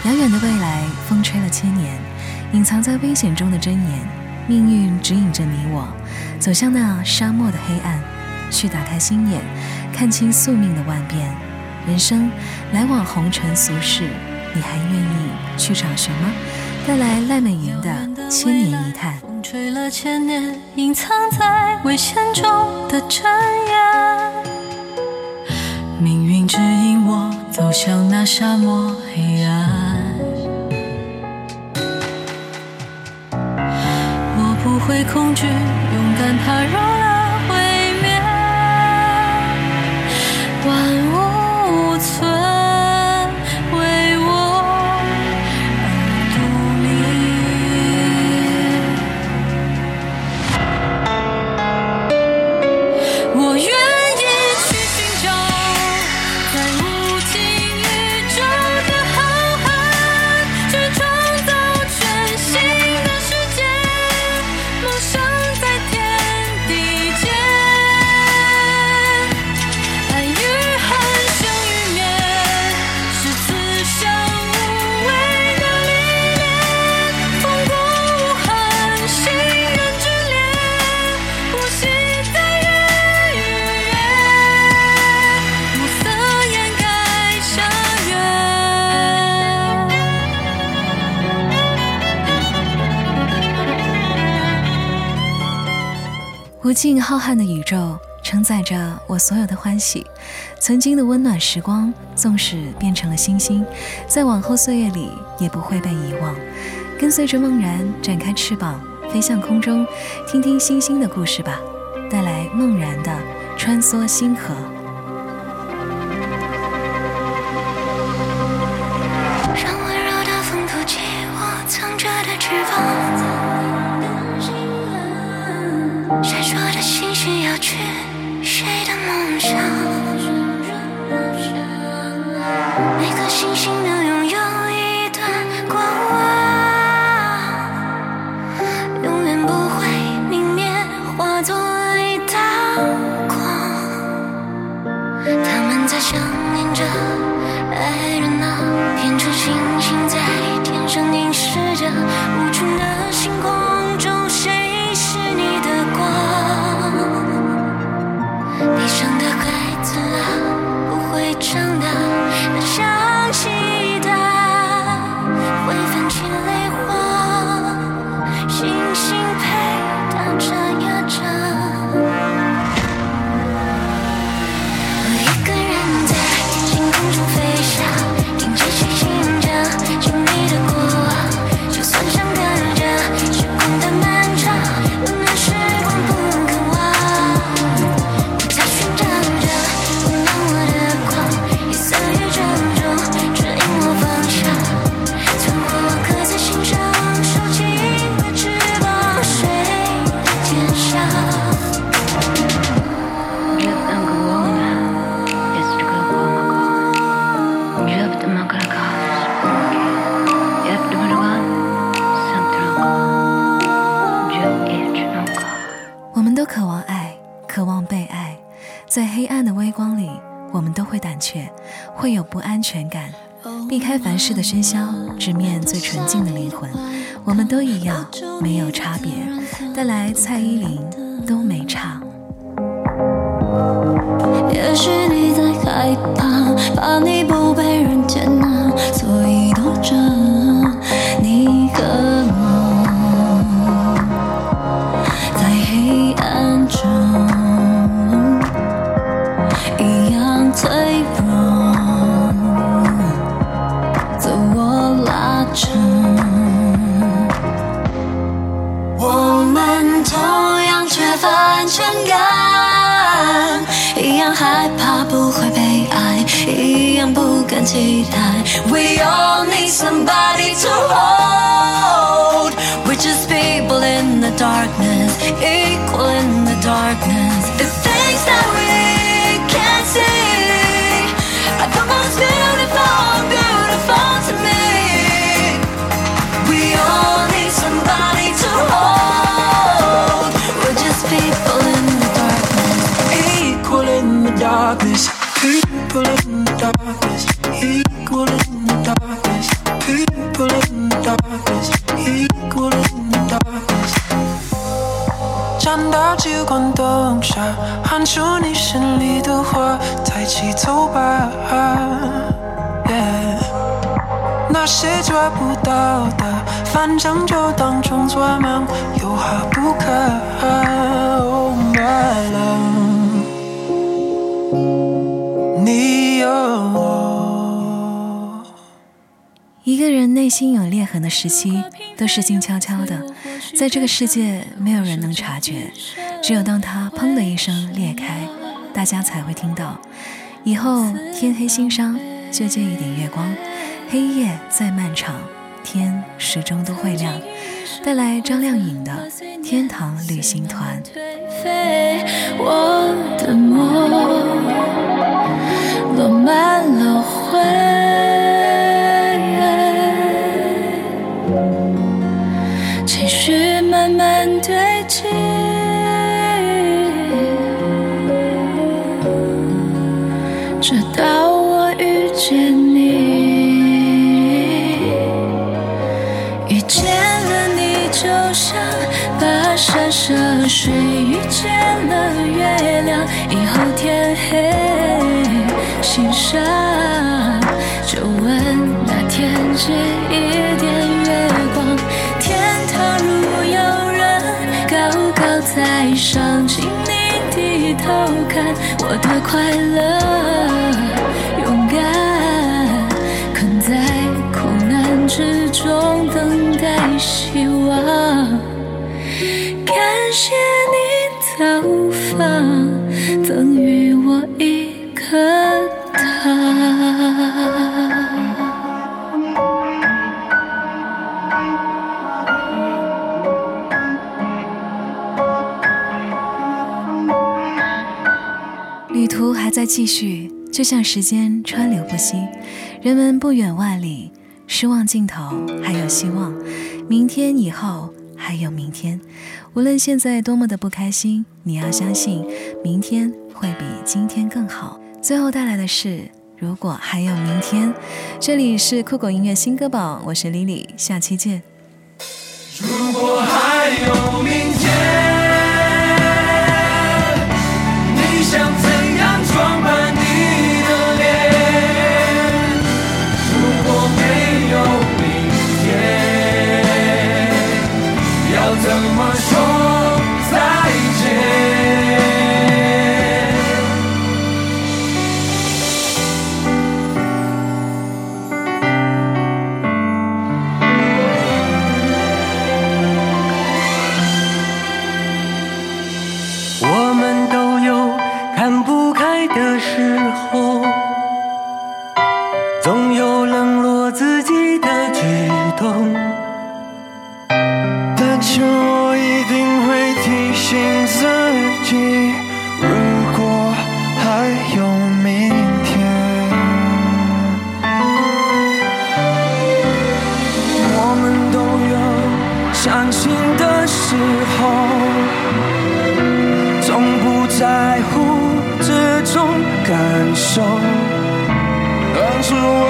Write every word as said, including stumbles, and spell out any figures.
遥远的未来，风吹了千年，隐藏在危险中的箴言，命运指引着你我，走向那沙漠的黑暗，去打开心眼，看清宿命的万变。人生来往红尘俗世，你还愿意去找寻吗？带来赖美云的《千年一叹》。 风吹了千年，隐藏在危险中的箴言，命运指引我走向那沙漠黑暗。我不会恐惧，勇敢踏入了毁灭，万物无存为我而独立。我愿意去寻找在无尽宇宙的浩瀚，去创造全新的世界，梦想在天地间，爱与恨，生与灭，是此生无畏的历练，风过无痕，心人之恋，呼吸在月与月，暮色掩盖沙原。 无尽浩瀚的宇宙承载着我所有的欢喜，曾经的温暖时光纵使变成了星星，在往后岁月里也不会被遗忘。跟随着梦然展开翅膀，飞向空中，听听星星的故事吧。带来梦然的穿梭星河。 让温柔的风吐起我藏着的翅膀，闪烁的星星要去谁的梦想？每颗星星都拥有一段过往，永远不会泯灭，化作一道光。他们在想念着，爱热闹，变成星星在天上凝视着无穷的星空中，谁是你的光？地上的孩子啊，不会长大，那像期待会泛起泪花，星星陪他眨呀眨。我一个人在天空中飞翔，听着星星讲经历的过往，就算相隔着时空的漫长，温暖时光不肯忘。你在寻找着温暖我的光，夜色宇宙中指引我方向，存活刻在心上，收紧了翅膀，飞天上。 我们都渴望爱，渴望被爱，在黑暗的微光里，我们都会胆怯，会有不安全感，避开凡事的喧嚣，直面最纯净的灵魂。我们都一样，没有差别。带来蔡依林《都没差》。 也许你在害怕，怕你不被人接纳，所以躲着你和我，在黑暗中一样脆弱，自我拉扯。我们同样缺乏安全感，一样害怕不会被爱，一样不敢期待。We all need somebody to hold. We're just people in the darkness, equal in the darkness. The things that we can't see are the most beautiful, beautiful to me. We all need somebody to hold. We're just people in the darkness, equal in the darkness. People in the darkness, equal in the darkness. People 放下，喊出你心里的话，抬起头吧、yeah、那些抓不到的，反正就当成做梦，有好不可。 Oh my love， 你有我。 一个人内心有裂痕的时期，都是静悄悄的，在这个世界没有人能察觉，只有当它砰的一声裂开，大家才会听到。以后天黑心伤，就借一点月光，黑夜再漫长，天始终都会亮。带来张靓颖的《天堂旅行团》。 我的梦落满了灰，情绪慢慢堆积，直到我遇见你，遇见了你就像跋山涉水遇见了月亮，以后天黑心伤，就问那天借一点月光，天堂如有人高高在上，请你低头看我的快乐勇敢，困在苦难之中等待希望，感谢你造访，赠予我一颗糖。 旅途还在继续，就像时间川流不息，人们不远万里，失望尽头还有希望，明天以后还有明天。无论现在多么的不开心，你要相信明天会比今天更好。最后带来的是如果还有明天。这里是酷狗音乐新歌榜，我是 Lily， 下期见。 如果还有明天，你想怎样装扮你的脸？如果没有明天，要怎么说再见？我们都有看不开的时候，总有冷落自己的举动，但是我一定会提醒自己，如果还有明天。我们都有伤心的时候，从不在乎这种感受，当初我